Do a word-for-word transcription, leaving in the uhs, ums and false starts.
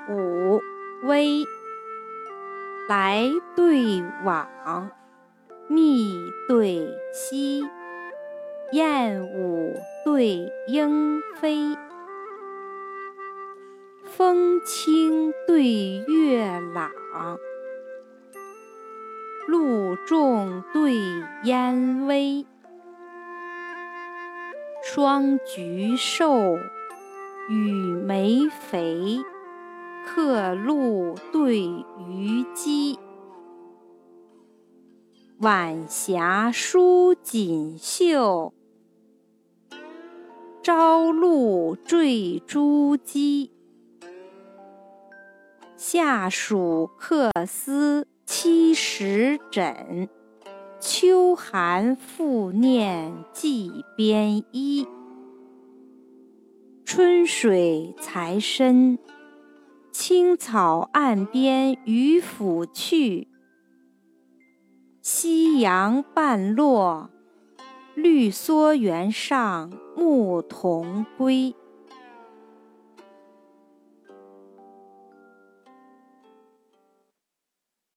五微，来对往，密对稀，燕舞对莺飞，风清对月朗，露重对烟微，双菊瘦，羽梅肥，客路对鱼鸡，晚霞舒锦绣，朝露缀珠玑。夏暑客思七十枕，秋寒复念寄边衣。春水才深，青草岸边渔父去，夕阳半落，绿蓑原上牧童归。